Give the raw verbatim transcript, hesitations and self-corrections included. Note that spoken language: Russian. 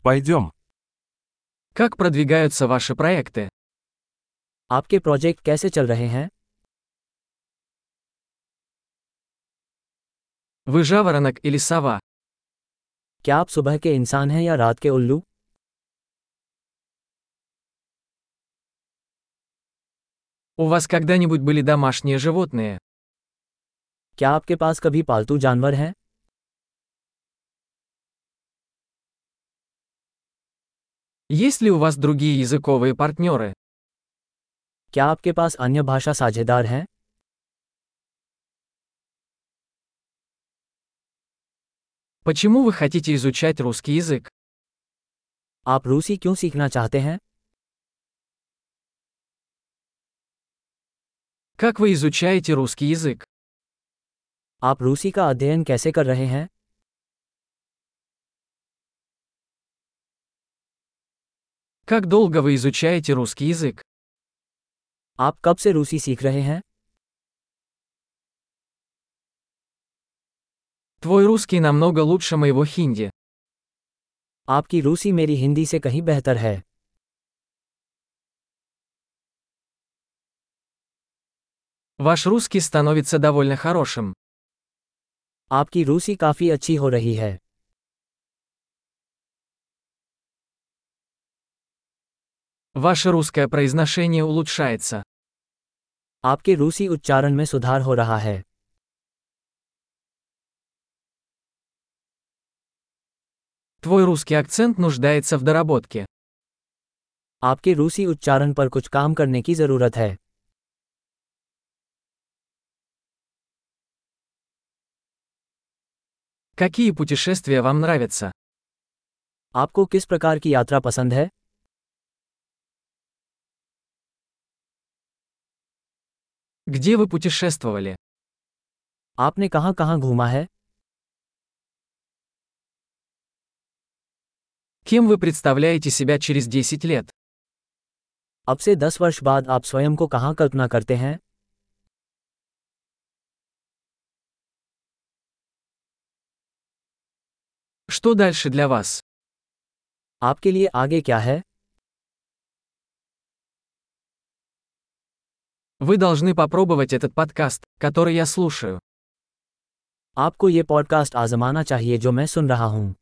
Пойдем. Как продвигаются ваши проекты? आपके प्रोजेक्ट कैसे चल रहे हैं? Вы жаворонок или сова? क्या आप सुबह के इंसान हैं या रात के उल्लू? У вас когда-нибудь были домашние животные? क्या आपके पास कभी पालतू जानवर हैं? Есть ли у вас другие языковые партнеры? क्या आपके पास अन्य भाषा साझेदार हैं? Почему вы хотите изучать русский язык? आप रूसी क्यों सीखना चाहते हैं? Как вы изучаете русский язык? आप रूसी का अध्ययन कैसे कर रहे हैं? Как долго вы изучаете русский язык? आप कब से रूसी सीख रहे हैं? Твой русский намного лучше моего хинди. आपकी रूसी मेरी हिंदी से कहीं बेहतर है। Ваш русский становится довольно хорошим. आपकी रूसी काफ़ी अच्छी हो रही है। Ваше русское произношение улучшается. आपके रूसी उच्चारण में सुधार हो रहा है। Твой русский акцент нуждается в доработке. आपके रूसी उच्चारण पर कुछ काम करने की ज़रूरत है। Какие путешествия вам нравятся? आपको किस प्रकार की यात्रा पसंद है? Где вы путешествовали? आपने कहाँ-कहाँ घूमा है? Кем вы представляете себя через десять лет? अब से दस वर्ष बाद आप स्वयं को कहाँ कल्पना करते हैं? Что дальше для вас? आपके लिए आगे क्या है? Вы должны попробовать этот подкаст, который я слушаю. आपको ये पॉडकास्ट आज़माना चाहिए जो मैं सुन रहा हूँ।